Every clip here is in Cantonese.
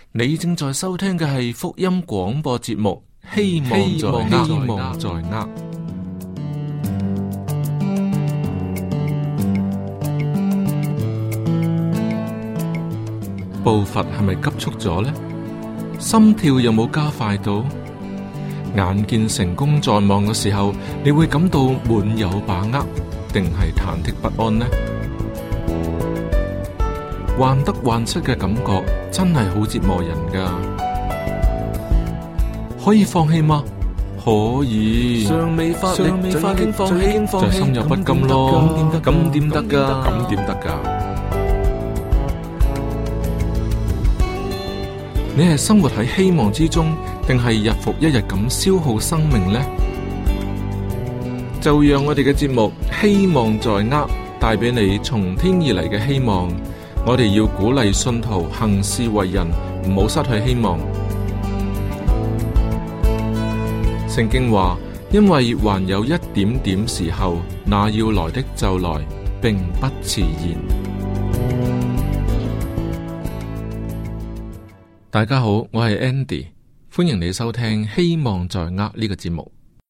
你正在收聽嘅係福音廣播節目，希望在握。步伐係咪急促咗呢？心跳有冇加快到？眼見成功在望嘅時候，你會感到滿有把握，定係忐忑不安呢？患得患失嘅感覺真係好折磨人㗎。可以放棄嗎？可以。尚未發力就已經放棄，就心有不甘咯。咁點得㗎？咁點得㗎？你係生活喺希望之中，定係日復一日咁消耗生命呢？就讓我哋嘅節目希望在握，帶俾你從天而嚟嘅希望。我哋要鼓勵信徒行事為人，唔好失去希望。聖經話，因為還有一點點時候，那要來的就來，並不遲延。大家好，我係 Andy， 歡迎你收聽希望在握呢個節目。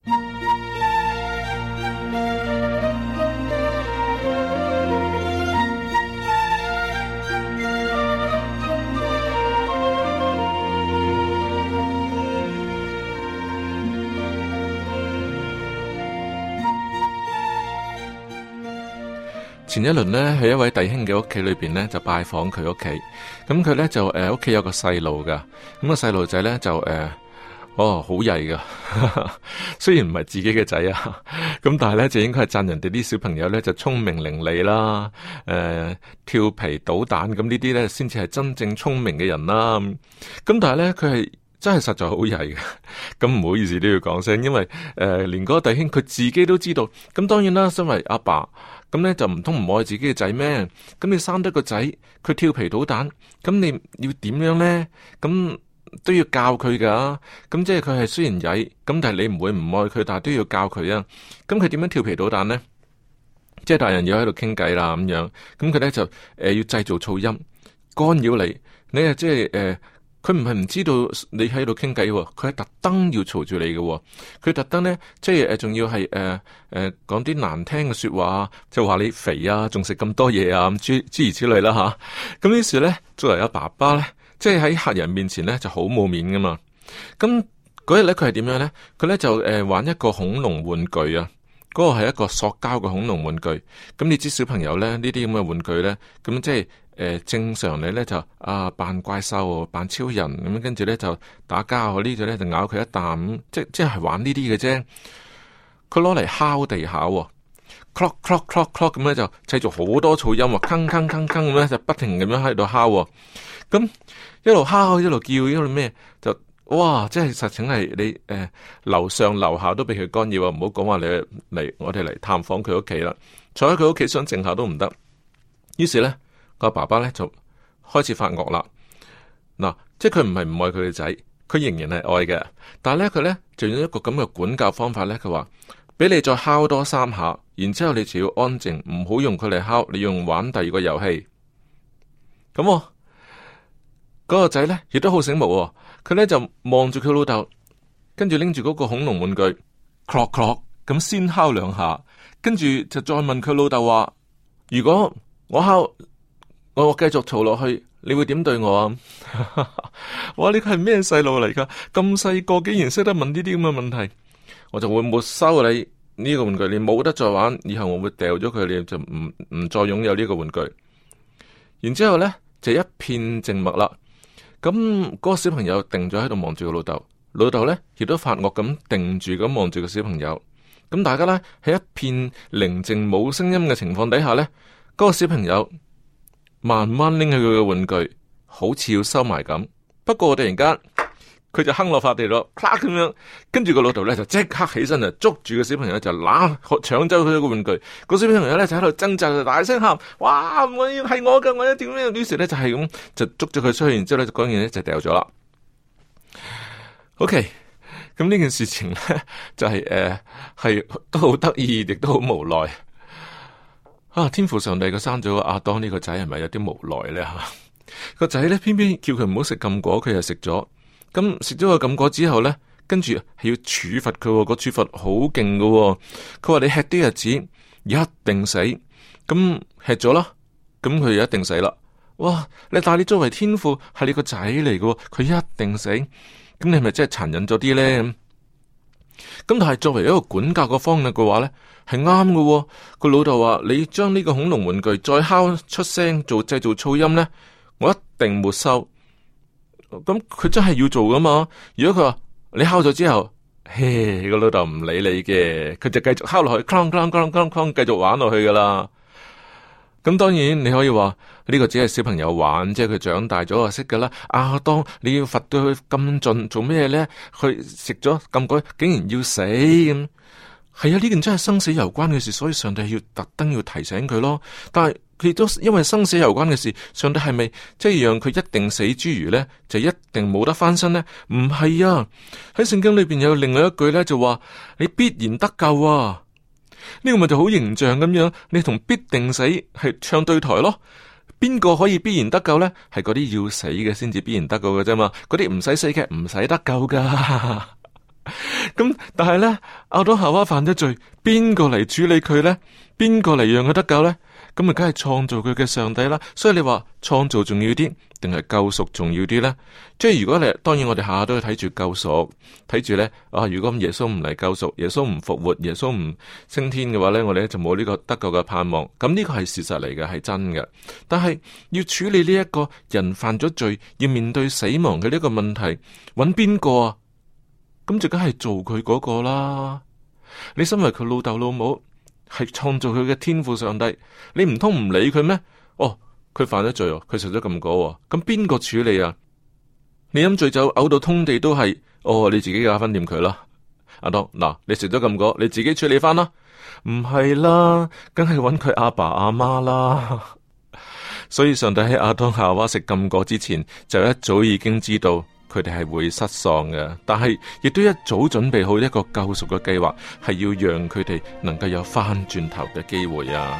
前一輪呢，喺一位弟兄嘅屋企裏邊呢，就拜訪佢屋企。咁佢呢，就屋企有個細路噶。咁個細路仔呢，就好曳噶。雖然唔係自己嘅仔啊，咁但係呢，就應該係讚人哋啲小朋友呢，就聰明伶俐啦，調皮搗蛋咁呢啲呢，先至係真正聰明嘅人啦。咁但係呢，佢係真係實在好曳嘅。咁唔好意思都要講聲，因為連嗰個弟兄佢自己都知道。咁當然啦，身為阿爸。咁咧就唔通唔愛自己嘅仔咩？咁你生得個仔，佢調皮搗蛋，咁你要點樣咧？咁都要教佢噶。咁即係佢係雖然曳，咁但係你唔會唔愛佢，但係都要教佢啊。咁佢點樣調皮搗蛋咧？即係大人要喺度傾偈啦，咁樣。咁佢咧就要製造噪音，干擾你。你啊即係佢唔係唔知道你喺度傾偈，佢係特登要嘈住你嘅。佢特登咧，即係仲要係講啲難聽嘅說話，就話你肥啊，仲食咁多嘢啊，咁諸如此類啦吓。咁於是咧，作為阿爸爸咧，即係喺客人面前咧就好冇面噶嘛。咁嗰日咧，佢係點樣咧？佢咧就玩一個恐龍玩具啊。嗰個係一個塑膠嘅恐龍玩具。咁你知小朋友咧呢啲咁嘅玩具咧，咁即係。正常你咧就扮怪獸，扮超人咁，跟住咧就打交，呢度咧就咬佢一啖，即係玩呢啲嘅啫。佢攞嚟敲地下，clock clock clock clock 咁咧就製造好多噪音，鏗鏗鏗鏗咁咧就不停咁樣喺度敲。咁一路敲一路叫一路咩，就哇！即係實情係你樓上樓下都俾佢干擾啊！唔好講話你嚟我哋嚟探訪佢屋企啦，坐喺佢屋企想靜下都唔得。於是咧。個爸爸咧就開始發惡啦，嗱，即係佢唔係唔愛佢嘅仔，佢仍然係愛嘅，但係咧佢咧就用一個咁嘅管教方法咧，佢話俾你再敲多3下，然之後你就要安靜，唔好用佢嚟敲，你用玩第二個遊戲。咁嗰個仔咧亦都好醒目，佢咧就望住佢老豆，跟住拎住嗰個恐龍玩具，clock clock 咁先敲2下，跟住就再問佢老豆話：如果我敲？我繼續嘈落去，你會點對我啊？哇！呢個係咩細路嚟噶？咁細個竟然識得問呢啲咁嘅問題，我就會沒收你呢個玩具，你冇得再玩，以後我會掉咗佢，你就唔再擁有呢個玩具。然之後咧就一片靜默啦。咁嗰個小朋友定咗喺度望住個老豆，老豆咧亦都發惡咁定住咁望住個小朋友。咁大家咧喺一片寧靜冇聲音嘅情況底下咧，嗰個小朋友。慢慢拎起佢嘅玩具，好似要收埋咁。不過突然間，佢就哼落塊地咯，啪咁樣。跟住個老豆咧就即刻起身就捉住個小朋友就搶走佢個玩具。個小朋友咧就喺度掙扎，就大聲喊：哇！我要係我噶，我一點樣？於是咧就係咁就捉咗佢出去，然之後咧嗰件咧就掉咗啦。OK，咁呢件事情咧就係都好得意，亦都好無奈。天父上帝佢生咗亞當呢個仔係咪有啲無奈咧吓？ 個仔咧偏偏叫佢唔好食禁果，佢又食咗。咁食咗個禁果之後咧，跟住係要處罰佢，個處罰好勁噶。佢話你吃啲日子一定死，咁吃咗啦，咁佢一定死啦。哇！但係你作為天父係你個仔嚟噶，佢一定死，咁你係咪真係殘忍咗啲咧？咁但係作為一個管教個方面嘅話咧，係啱噶。個老豆話你將呢個恐龍玩具再敲出聲做製造噪音咧，我一定沒收。咁佢真係要做噶嘛？如果佢話你敲咗之後，嘿，個老豆唔理你嘅，佢就繼續敲落去，哐哐哐哐哐，繼續玩落去噶啦。咁當然你可以話呢個只係小朋友玩，即係佢長大咗就識噶啦。亞當你要罰到佢咁盡做咩咧？佢食咗禁果，竟然要死咁。係啊，呢件真係生死攸關嘅事，所以上帝要特登要提醒佢咯。但係佢都因為生死攸關嘅事，上帝係咪即係讓佢一定死之餘咧，就一定冇得翻身咧？唔係啊！喺聖經裏邊有另外一句咧，就話你必然得救啊！呢個咪就好形象咁樣，你同必定死係唱對台咯。邊個可以必然得救咧？係嗰啲要死嘅先至必然得救嘅啫嘛。嗰啲唔使死嘅唔使得救噶。咁但係咧，亞當夏娃犯咗罪，邊個嚟處理佢咧？邊個嚟讓佢得救咧？咁咪梗係創造佢嘅上帝啦。所以你話創造重要啲，定係救贖重要啲咧？即係如果你當然我哋下下都要睇住救贖，睇住咧啊！如果耶穌唔嚟救贖，耶穌唔復活，耶穌唔升天嘅話咧，我哋就冇呢個得救嘅盼望。咁呢個係事實嚟嘅，係真嘅。但係要處理呢一個人犯咗罪，要面對死亡嘅呢個問題，揾邊個啊？咁就梗係做佢嗰個啦。你身為佢老豆老母，係創造佢嘅天父上帝，你唔通唔理佢咩？哦，佢犯咗罪，佢食咗禁果，咁邊個處理啊？你飲醉酒嘔到通地都係，哦，你自己搞翻掂佢啦。阿當嗱，你食咗禁果，你自己處理翻啦。唔係啦，梗係揾佢阿爸阿媽啦。所以上帝喺亞當夏娃食禁果之前，就一早已經知道佢哋係會失喪嘅，但係亦都一早準備好一個救贖嘅計劃，係要讓佢哋能夠有翻轉頭嘅機會啊！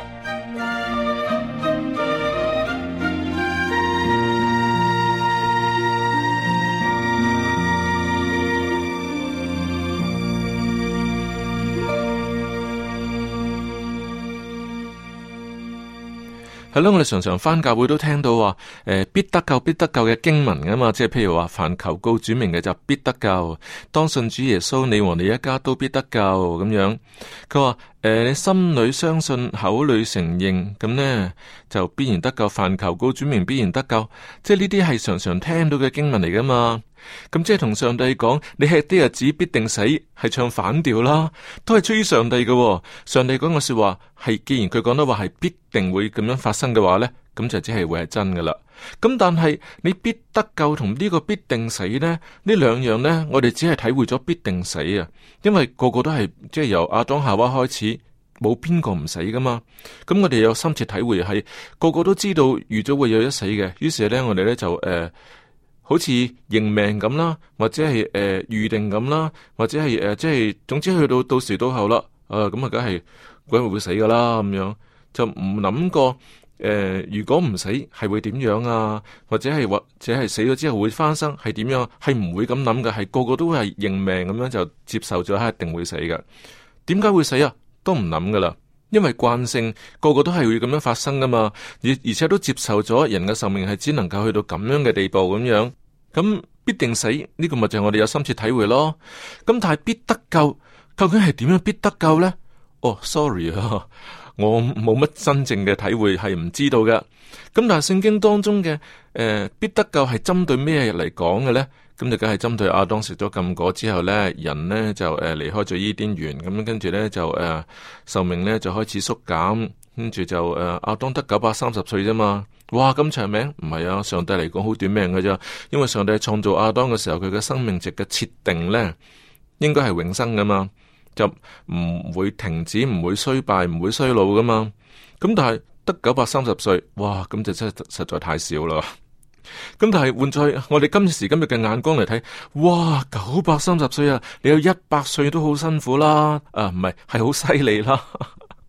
係咯，我哋常常返教會都聽到話，必得救必得救嘅經文噶嘛，即係譬如話，凡求告主名嘅就必得救，當信主耶穌，你和你一家都必得救咁樣。佢話你心裏相信，口裏承認，咁呢就必然得救。凡求告主名，必然得救。即係呢啲係常常聽到嘅經文嚟噶嘛。咁即係同上帝講，你吃啲日子必定死，係唱反調啦，都係出於上帝嘅。上帝講嘅說話係，既然佢講得話係必定會咁樣發生嘅話呢，咁就只係會係真噶啦。咁但係你必得救同呢個必定死呢，呢兩樣呢，我哋只係體會咗必定死啊，因為個個都係即係由亞當夏娃開始，冇邊個唔死噶嘛。咁我哋有深切體會係，個個都知道預咗會有一死嘅，於是呢，我哋呢就好似認命咁啦，或者係預定咁啦，或者係即係總之去到時到後啦，咁啊梗係會死噶啦，咁樣就唔諗過如果唔死係會點樣啊？或者係死咗之後會翻生係點樣？係唔會咁諗嘅，係個個都係認命咁樣就接受咗，係一定會死嘅。點解會死啊？都唔諗噶啦，因為慣性個個都係會咁樣發生噶嘛，而且都接受咗人嘅壽命係只能夠去到咁樣嘅地步咁樣。咁必定死呢個咪就係我哋有深切體會咯。咁但係必得救究竟係點樣必得救呢？哦，sorry 啊，我冇乜真正嘅體會，係唔知道嘅。咁但係聖經當中嘅必得救係針對咩嚟講嘅呢？咁就梗係針對亞當食咗禁果之後呢，人呢就離開咗伊甸園，咁跟住呢就壽命呢就開始縮減，跟住就亞當得930歲啫嘛。哇，咁長命？唔係啊，上帝嚟講好短命嘅啫。因為上帝創造亞當嘅時候，佢嘅生命值嘅設定呢，應該係永生噶嘛，就唔會停止，唔會衰敗，唔會衰老噶嘛。咁但係得930歲，哇，咁就真係實在太少啦。咁但係換在我哋今時今日嘅眼光嚟睇，哇，930歲啊，你有100歲都好辛苦啦，唔係好犀利啦。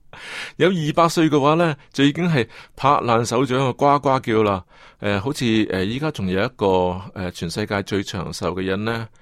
有200歲嘅話咧，就已經係拍爛手掌啊，呱呱叫啦。好似依家仲有一個全世界最長壽嘅人咧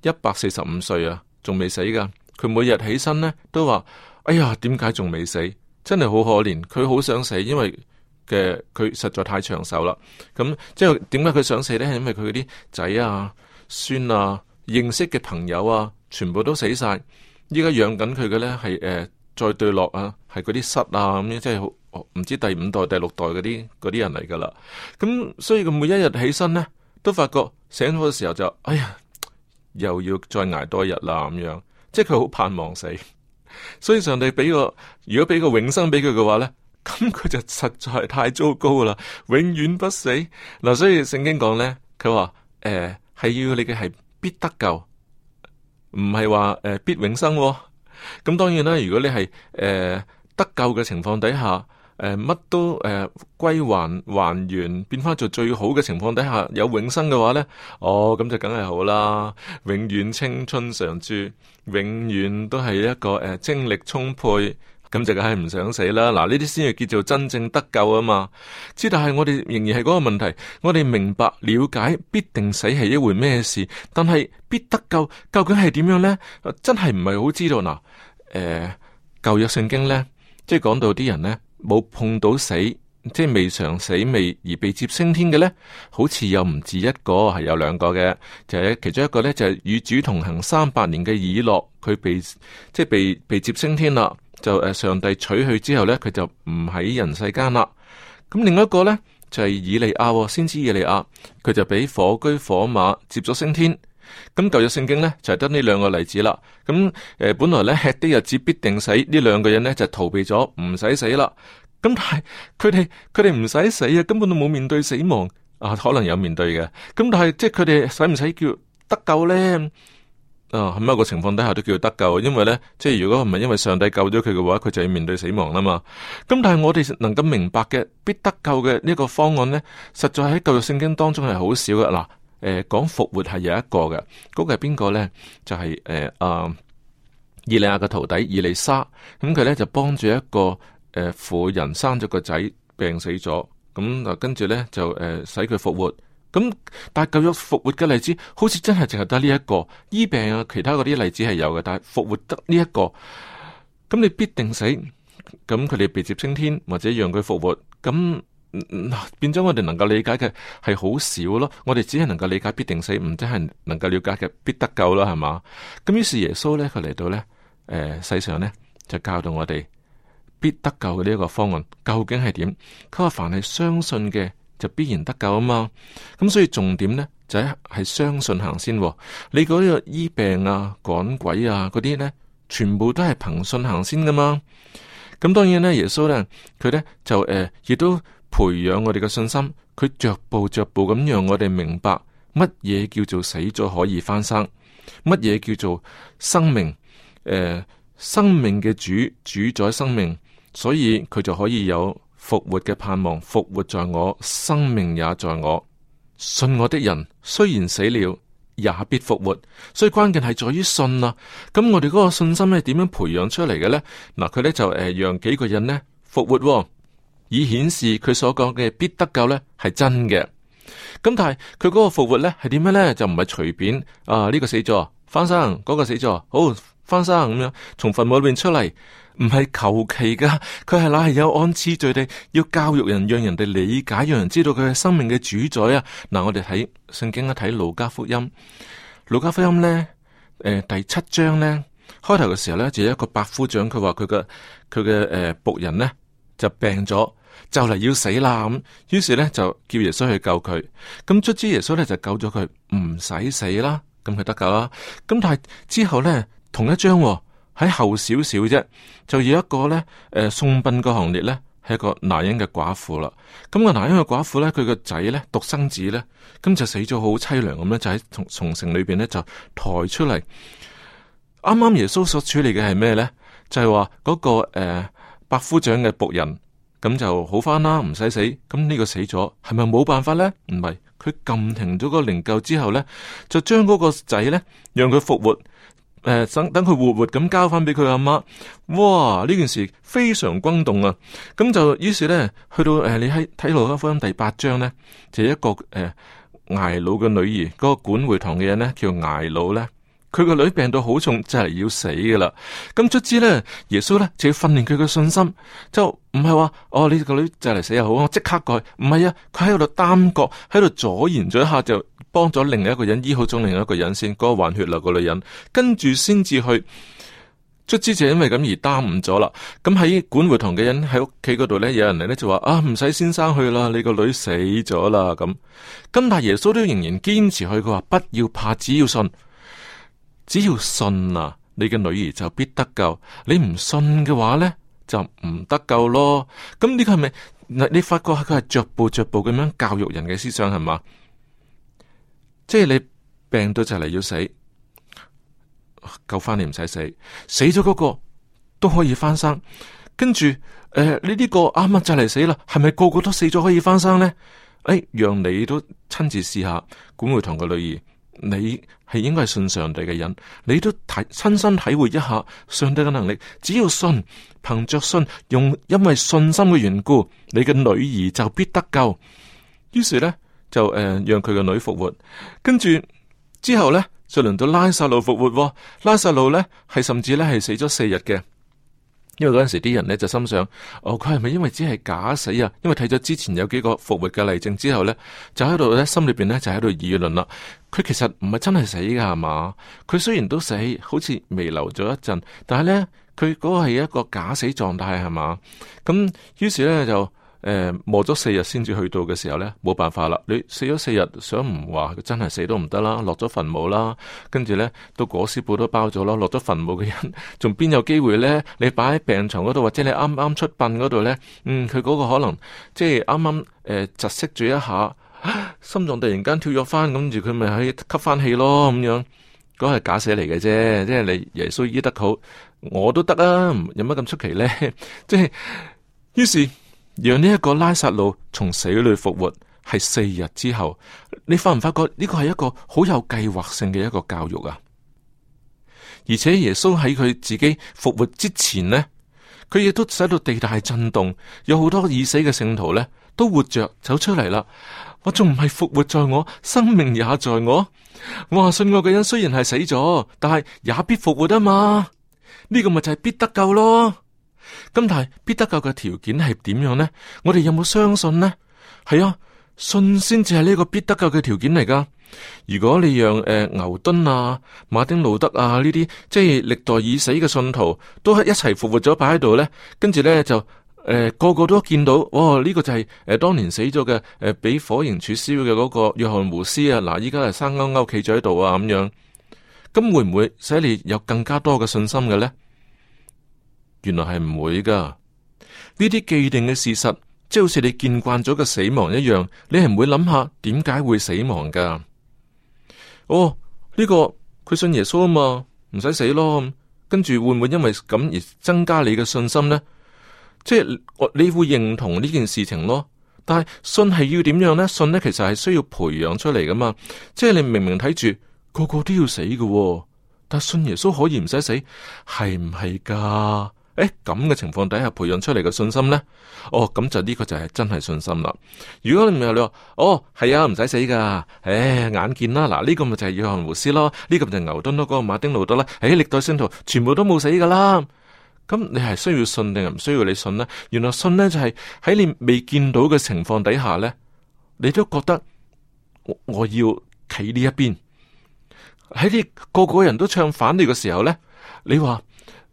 ，145歲啊，仲未死噶。佢每日起身咧都話：哎呀，點解仲未死？真係好可憐。佢好想死，因為佢實在太長壽啦。咁即係點解佢想死咧？係因為佢嗰啲仔啊、孫啊、認識嘅朋友啊，全部都死晒。依家養緊佢嘅咧係再對落啊，係嗰啲虱啊咁樣，即係好唔知第5代、第6代嗰啲人嚟噶啦。咁所以佢每一日起身咧，都發覺醒咗嘅時候就哎呀，又要再捱多一日啦咁樣。即係佢好盼望死，所以上帝如果俾個永生俾佢嘅話咧，咁佢就實在係太糟糕啦，永遠不死嗱。所以聖經講咧，佢話係要你嘅係必得救，唔係話必永生。咁當然啦，如果你係得救嘅情況底下，乜都歸還原，變翻做最好嘅情況底下有永生嘅話呢，咁就梗係好啦，永遠青春常駐，永遠都係一個精力充沛，咁就梗係唔想死啦。嗱，呢啲先係叫做真正得救啊嘛。但係我哋仍然係嗰個問題，我哋明白了解必定死係一回咩事，但係必得救究竟係點樣呢？真係唔係好知道嗱。舊約聖經呢，即係講到啲人呢，冇碰到死，即係未嘗死未而被接升天嘅呢，好似又唔止一個，係有2個嘅。就係其中一個呢，就係與主同行300年嘅以諾，佢被接升天啦。就上帝取去之後呢，佢就唔喺人世間啦。咁另一個呢，就係以利亞，先知以利亞，佢就俾火車火馬接咗升天。咁舊約聖經呢，就係得呢2個例子啦。咁本來呢，吃的日子必定死，呢2個人呢，就逃避咗，唔使死啦。咁但係佢哋唔使死啊，根本都冇面對死亡啊，可能有面對嘅。咁但係即係佢哋使唔使叫得救呢？喺某個情況底下都叫得救，因為呢，即係如果唔係因為上帝救咗佢嘅話，佢就要面對死亡啦嘛。咁但係我哋能夠明白嘅必得救嘅呢個方案呢，實在喺舊約聖經當中係好少嘅。嗱，講復活係有一個嘅，嗰個係邊個呢？就係以利亞嘅徒弟以利沙，咁佢呢就幫住一個婦人生咗個仔病死咗，咁跟住呢就使佢復活。咁但係舊約復活嘅例子，好似真係淨係得呢一個。醫病啊，其他嗰啲例子係有嘅，但係復活得呢一個。咁你必定死，咁佢哋被接升天或者讓佢復活，咁變咗我哋能夠理解嘅係好少咯。我哋只係能夠理解必定死，唔真係能夠了解嘅必得救啦，係嘛？咁於是耶穌咧，佢嚟到咧，世上咧就教導我哋必得救嘅呢一個方案究竟係點？佢話凡係相信嘅，就必然得救啊嘛，咁所以重點呢，就係相信行先。你嗰個醫病啊、趕鬼啊嗰啲呢，全部都係憑信行先噶嘛。咁當然呢，耶穌呢，佢呢，就亦都培養我哋嘅信心，佢逐步咁讓我哋明白乜嘢叫做死咗可以翻生，乜嘢叫做生命。生命嘅主宰生命，所以佢就可以有復活嘅盼望，復活在我，生命也在我。信我的人雖然死了，也必復活。所以關鍵係在於信啊。咁我哋嗰個信心係點樣培養出嚟嘅呢？嗱，佢呢就讓幾個人呢復活，以顯示佢所講嘅必得救呢係真嘅。咁但係佢嗰個復活呢係點樣呢？就唔係隨便呢個死咗翻生，嗰個死咗好翻生咁樣從墳墓裏邊出嚟。唔係求其噶，佢係乃係有按次序地要教育人，讓人哋理解，讓人知道佢係生命嘅主宰啊！嗱，我哋睇聖經一睇路加福音，路加福音呢，第7章呢，開頭嘅時候呢，就有一個百夫長，佢話佢嘅僕人呢就病咗，就嚟要死啦咁，於是呢，就叫耶穌去救佢，咁卒之耶穌呢，就救咗佢，唔使死啦，咁佢得救啦。咁但係之後呢，同一章喺後少少啫，就有一個咧，送殯個行列咧，係一個拿因嘅寡婦啦。咁個拿因嘅寡婦咧，佢個仔咧，獨生子咧，咁就死咗好淒涼咁咧，就喺從城裏邊咧就抬出嚟。啱啱耶穌所處理嘅係咩咧？就係話嗰個百夫長嘅僕人，咁就好翻啦，唔使死。咁呢個死咗，係咪冇辦法咧？唔係，佢撳停咗個靈柩之後咧，就將嗰個仔咧，讓佢復活。 等佢活活咁交翻俾佢阿媽。哇！呢件事非常轟動啊！咁就於是咧，去到你喺睇路加福音第8章咧，就一個睚魯嘅女兒，嗰個管會堂嘅人咧叫睚魯咧。佢個女病到好重，就係要死噶啦。咁卒之咧，耶穌咧就要訓練佢嘅信心，就唔係話你個女就嚟死又好，我即刻改。唔係啊，佢喺度耽擱，喺度阻延咗一下，就幫咗另一個人醫好咗另一個人先，嗰個患血流個女人，跟住先至去。卒之就因為咁而耽誤咗啦。咁喺管會堂嘅人喺屋企嗰度咧，有人嚟咧就話唔使先生去啦，你個女死咗啦咁。但係耶穌都仍然堅持去，佢話不要怕，只要信。只要信啊，你嘅女兒就必得救。你唔信嘅話呢，就唔得救咯。咁呢個係咪？你發覺佢係逐步咁樣教育人嘅思想係嘛？即係你病到就嚟要死，救翻你唔使死，死咗嗰個都可以翻生。跟住你呢個啱啱就嚟死啦，係咪個個都死咗可以翻生呢？讓你都親自試下管會堂嘅女兒。你係應該係信上帝嘅人，你都親身體會一下上帝嘅能力。只要信，憑着信，因為信心嘅緣故，你嘅女兒就必得救。於是呢，就讓佢嘅女復活。跟住之後呢，就輪到拉撒路復活。拉撒路呢，係甚至呢係死咗4日嘅。因為嗰陣時啲人呢就心想，佢係咪因為只係假死啊？因為睇咗之前有幾個復活嘅例證之後呢，就喺度呢心裏邊呢就喺度議論啦。佢其實唔係真係死噶係嘛？佢雖然都死，好似彌留咗一陣，但係呢，佢嗰個係一個假死狀態係嘛？咁於是呢，就磨咗4日先至去到嘅時候呢，冇辦法啦。你死咗4日，想唔話佢真係死都唔得啦，落咗墳墓啦，跟住呢，到裹屍布都包咗啦，落咗墳墓嘅人仲邊有機會呢？你擺喺病床嗰度，或者你啱啱出殯嗰度呢，佢嗰個可能即係啱啱窒息住一下，心臟突然間跳躍翻，跟住佢咪可以吸翻氣咯咁樣。嗰個係假死嚟嘅啫，即係你耶穌醫得好，我都得啊，有乜咁出奇呢？即係於是。讓呢一個拉撒路從死裏復活係4日之後，你發唔發覺呢個係一個好有計劃性嘅一個教育啊？而且耶穌喺佢自己復活之前呢，佢亦都使到地大震動，有好多已死嘅聖徒呢都活着走出嚟啦。我仲唔係復活在我，生命也在我。我話信我嘅人雖然係死咗，但係也必復活啊嘛。呢個咪就係必得救咯。咁但係必得救嘅條件係點樣呢？我哋有冇相信呢？係啊，信先至係呢個必得救嘅條件嚟噶。如果你讓牛頓啊、馬丁路德啊呢啲即係歷代已死嘅信徒都係一齊復活咗擺喺度呢，跟住呢，就個個都見到，呢個就係當年死咗嘅俾火刑處燒嘅嗰個約翰胡斯啊，嗱依家係生勾勾企咗喺度啊咁樣，咁會唔會使你有更加多嘅信心嘅呢？原來係唔會噶，呢啲既定嘅事實，即係好似你見慣咗嘅死亡一樣，你係唔會諗下點解會死亡噶？呢個佢信耶穌啊嘛，唔使死咯。跟住會唔會因為咁而增加你嘅信心呢？即係你會認同呢件事情咯。但係信係要點樣呢？信呢其實係需要培養出嚟噶嘛。即係你明明睇住個個都要死嘅，但係信耶穌可以唔使死，係唔係噶？咁嘅情況底下培養出嚟嘅信心呢？咁就呢個就係真係信心啦。如果你唔係你話，係啊，唔使死噶，眼見啦，嗱呢個咪就係約翰胡斯咯，呢個咪就係牛頓咯，嗰個馬丁路德啦，歷代聖徒全部都冇死噶啦。咁你係需要信定係唔需要你信呢？原來信呢就係喺你未見到嘅情況底下呢，你都覺得我要企呢一邊。喺你個個人都唱反你嘅時候呢，你話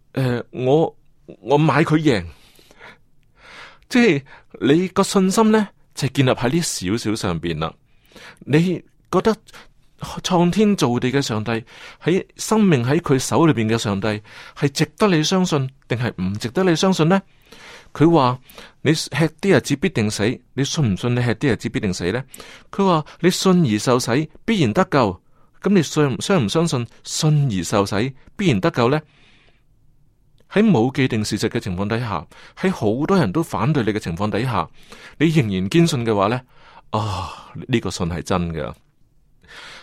我買佢贏，即係你個信心呢，就建立喺呢少少上邊啦。你覺得創天造地嘅上帝，喺生命喺佢手裏邊嘅上帝，係值得你相信，定係唔值得你相信呢？佢話你吃啲日子必定死，你信唔信你吃啲日子必定死呢？佢話你信而受洗，必然得救。咁你相唔相信信而受洗必然得救呢？喺冇既定事實嘅情況底下，喺好多人都反對你嘅情況底下，你仍然堅信嘅話呢，呢個信係真嘅。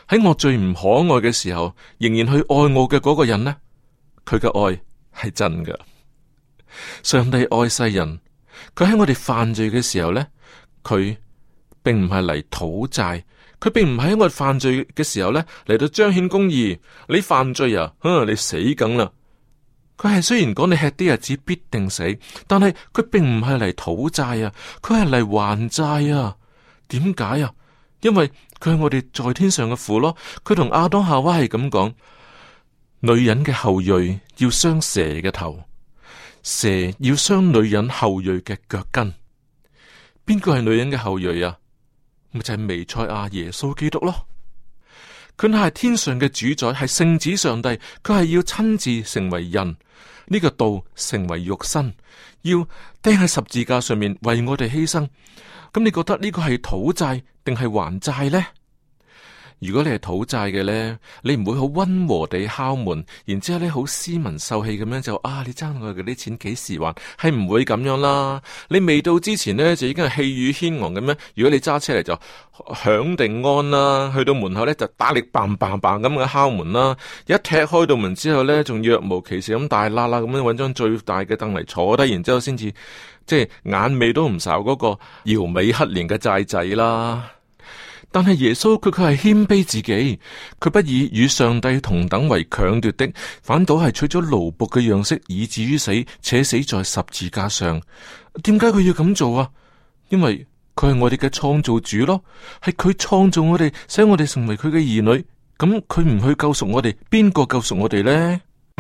喺我最唔可愛嘅時候，仍然去愛我嘅嗰個人呢，佢嘅愛係真㗎。上帝愛世人，佢喺我哋犯罪嘅時候呢，佢並唔係嚟討債，佢並唔係喺我哋犯罪嘅時候呢嚟到彰顯公義。你犯罪啊，你死梗啦！佢係雖然講你吃啲日子必定死，但係佢並唔係嚟討債啊，佢係嚟還債啊。點解啊？因為佢係我哋在天上嘅父咯。佢同亞當夏娃係咁講：女人嘅後裔要傷蛇嘅頭，蛇要傷女人後裔嘅腳跟。邊個係女人嘅後裔啊？咪就係彌賽亞耶穌基督咯。佢係天上嘅主宰，係聖子上帝，佢係要親自成為人，呢個道成為肉身，要釘喺十字架上面為我哋犧牲。咁你覺得呢個係討債定係還債呢？如果你係討債嘅呢，你唔會好溫和地敲門，然之後咧好斯文秀氣咁樣就你爭我嘅啲錢幾時還？係唔會咁樣啦。你未到之前呢，就已經係氣宇軒昂咁樣。如果你揸車嚟就響定安啦，去到門口呢，就打力嘭嘭嘭咁嘅敲門啦。一踢開到門之後呢，仲若無其事咁大啦啦咁樣揾張最大嘅凳嚟坐低，然之後先至即係眼尾都唔睄嗰個搖尾乞憐嘅債仔啦。但係耶穌佢係謙卑自己，佢不以與上帝同等為強奪的，反倒係取咗奴僕嘅樣式，以至於死，且死在十字架上。點解佢要咁做啊？因為佢係我哋嘅創造主咯，係佢創造我哋，使我哋成為佢嘅兒女。咁佢唔去救贖我哋，邊個救贖我哋呢？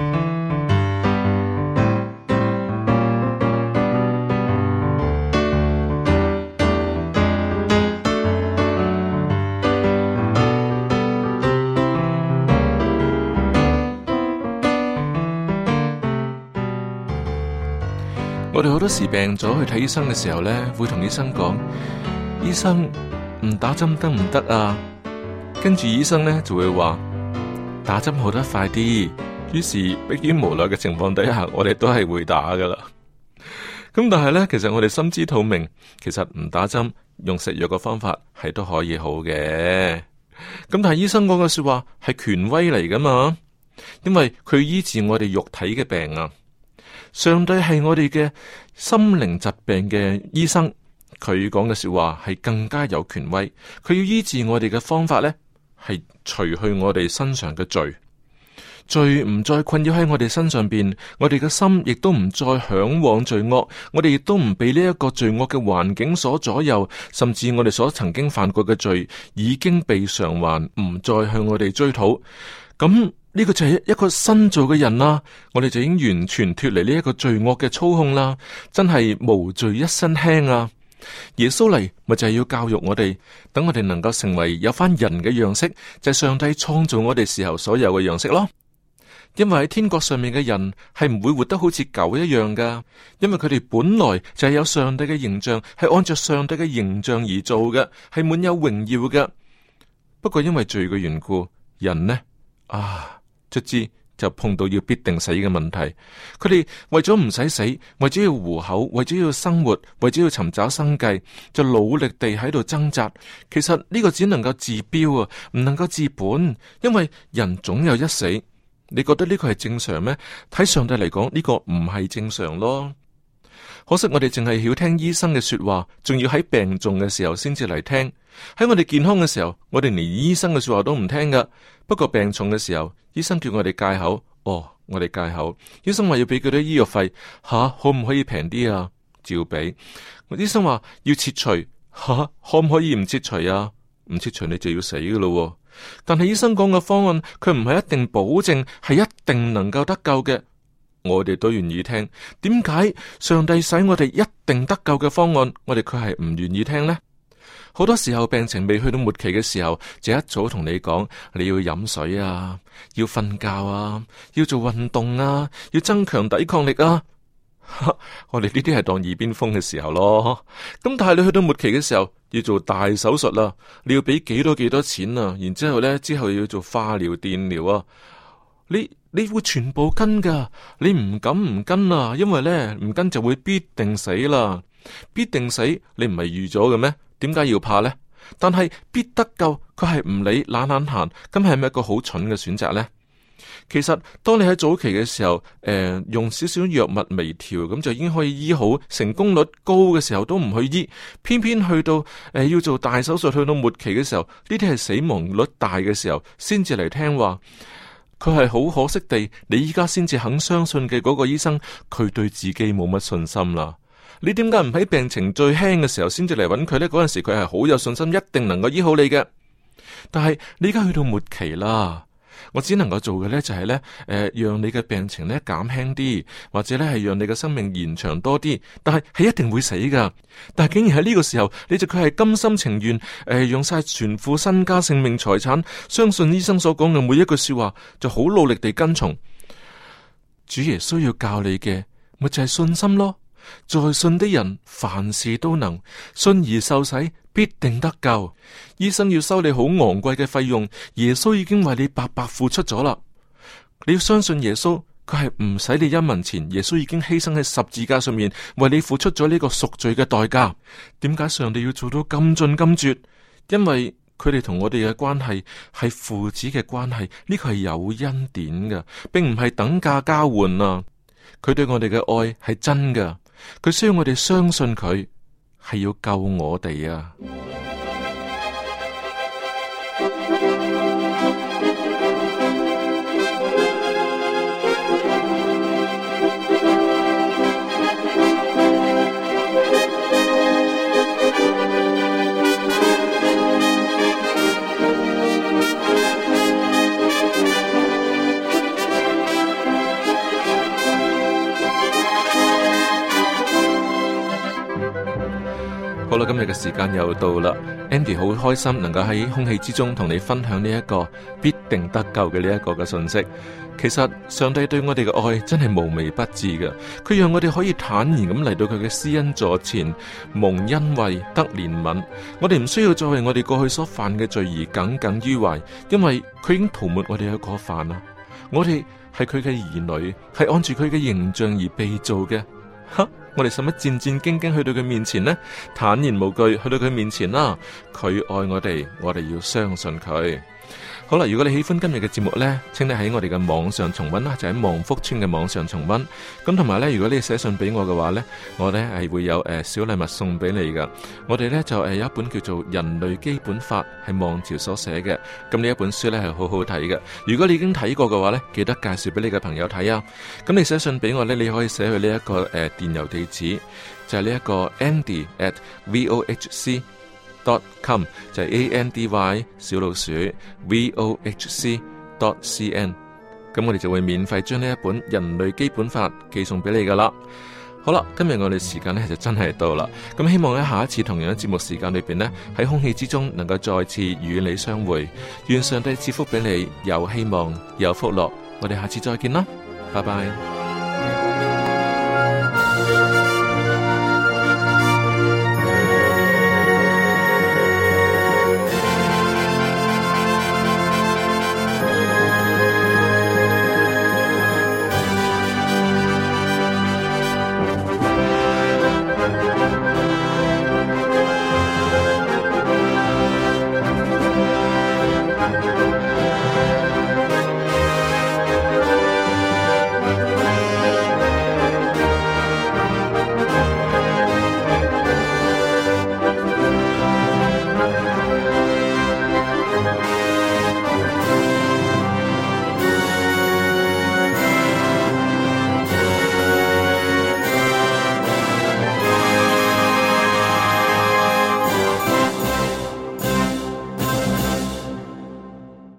我哋好多時病咗去睇醫生嘅時候呢，會同醫生講：醫生，唔打針得唔得啊？跟住醫生呢就會話：打針好得快啲。於是迫於無奈嘅情況底下，我哋都係會打噶啦。咁但係呢，其實我哋心知肚明，其實唔打針，用食藥嘅方法係都可以好嘅。咁但係醫生講嘅說話係權威嚟噶嘛？因為佢醫治我哋肉體嘅病啊。上帝係我哋嘅心靈疾病嘅醫生，佢講嘅說話係更加有權威。佢要醫治我哋嘅方法呢，係除去我哋身上嘅罪，罪唔再困擾喺我哋身上邊，我哋嘅心亦都唔再向往罪惡，我哋亦都唔被呢一個罪惡嘅環境所左右，甚至我哋所曾經犯過嘅罪已經被償還，唔再向我哋追討。咁呢個就係一個新造嘅人啦，我哋就已經完全脫離呢一個罪惡嘅操控啦，真係無罪一身輕啊！耶穌嚟咪就係要教育我哋，等我哋能夠成為有翻人嘅樣式，就係上帝創造我哋時候所有嘅樣式咯。因為喺天國上面嘅人係唔會活得好似狗一樣噶，因為佢哋本來就係有上帝嘅形象，係按照上帝嘅形象而做嘅，係滿有榮耀嘅。不過因為罪嘅緣故，人呢卒之就碰到要必定死嘅問題，佢哋為咗唔使死，為咗要糊口，為咗要生活，為咗要尋找生計，就努力地喺度掙扎。其實呢個只能夠治標啊，唔能夠治本，因為人總有一死。你覺得呢個係正常咩？睇上帝嚟講，呢個唔係正常咯。可惜我哋淨係曉聽醫生嘅說話，仲要喺病重嘅時候先至嚟聽。喺我哋健康嘅時候，我哋連醫生嘅說話都唔聽噶。不過病重嘅時候，醫生叫我哋戒口，我哋戒口。醫生話要俾幾多醫藥費，可唔可以平啲啊？照俾。醫生話要切除，可唔可以唔切除啊？唔切除你就要死噶咯。但係醫生講嘅方案，佢唔係一定保證係一定能夠得救嘅。我哋都願意聽。點解上帝使我哋一定得救嘅方案，我哋卻係唔願意聽呢？好多時候病情未去到末期嘅時候，就一早同你講，你要飲水啊，要瞓覺啊，要做運動啊，要增強抵抗力啊。我哋呢啲係當耳邊風嘅時候咯。咁但係你去到末期嘅時候，要做大手術啦，你要俾幾多錢啊？然之後呢，之後要做化療、電療啊。你會全部跟噶，你唔敢唔跟啊，因為呢，唔跟就會必定死啦，必定死，你唔係預咗嘅咩？點解要怕呢？ 但係必得救，佢係唔理懶閒，咁係咪一個好蠢嘅選擇呢？其實當你喺早期嘅時候，用少少藥物微調，咁就已經可以醫好，成功率高嘅時候都唔去醫，偏偏去到要做大手術，去到末期嘅時候，呢啲係死亡率大嘅時候，先至嚟聽話。佢係好可惜地，你依家先至肯相信嘅嗰個醫生，佢對自己冇乜信心啦。你點解唔喺病情最輕嘅時候先至嚟揾佢呢？嗰陣時佢係好有信心，一定能夠醫好你嘅。但係你而家去到末期啦。我只能夠做嘅呢就係呢，讓你嘅病情呢減輕啲，或者呢係讓你嘅生命延長多啲，但係一定會死噶。但係竟然喺呢個時候，你就佢係甘心情願，用晒全副身家性命財產，相信醫生所講嘅每一句說話，就好努力地跟從。主耶穌要教你嘅，咪就係信心咯。在信的人凡事都能，信而受洗必定得救。醫生要收你好昂貴嘅費用，耶穌已經為你白白付出咗啦。你要相信耶穌，佢係唔使你一文錢，耶穌已經犧牲喺十字架上面，為你付出咗呢個贖罪嘅代價。點解上帝要做到咁盡咁絕？因為佢哋同我哋嘅關係係父子嘅關係，呢個係有恩典嘅，並唔係等價交換啊。佢對我哋嘅愛係真㗎。佢需要我哋相信佢係要救我哋啊！好啦，今日嘅時間又到啦。Andy 好開心能夠喺空氣之中同你分享呢一個必定得救嘅呢一個嘅信息。其實上帝對我哋嘅愛真係無微不至嘅，佢讓我哋可以坦然咁嚟到佢嘅施恩座前，蒙恩惠得憐憫。我哋唔需要再為我哋過去所犯嘅罪而耿耿於懷，因為佢已經塗抹我哋嘅過犯啦。我哋係佢嘅兒女，係按住佢嘅形象而被造嘅。我哋使乜戰戰兢兢去到佢面前呢？坦然無懼去到佢面前啦。佢愛我哋，我哋要相信佢。好啦，如果你喜歡今日嘅節目呢，請你喺我哋嘅網上重溫啦，就喺望福村嘅網上重溫。咁同埋呢，如果你寫信俾我嘅話呢，我呢係會有小禮物送俾你噶。我哋呢就有一本叫做《人類基本法》，係望潮所寫嘅。咁呢一本書呢係好好睇嘅。如果你已經睇過嘅話呢，記得介紹俾你嘅朋友睇啊。咁你寫信俾我呢，你可以寫去呢一個電郵地址，就係呢一個 Andy@vohc.com， 就係 ANDY 小老鼠 vohc.cn。 咁我哋就會免費將呢一本人類基本法寄送俾你噶啦。好啦，今日我哋時間呢就真係到啦。咁希望喺下一次同樣嘅節目時間裏邊呢，喺空氣之中能夠再次與你相會。願上帝賜福俾你，有希望有福樂。我哋下次再見啦，拜拜。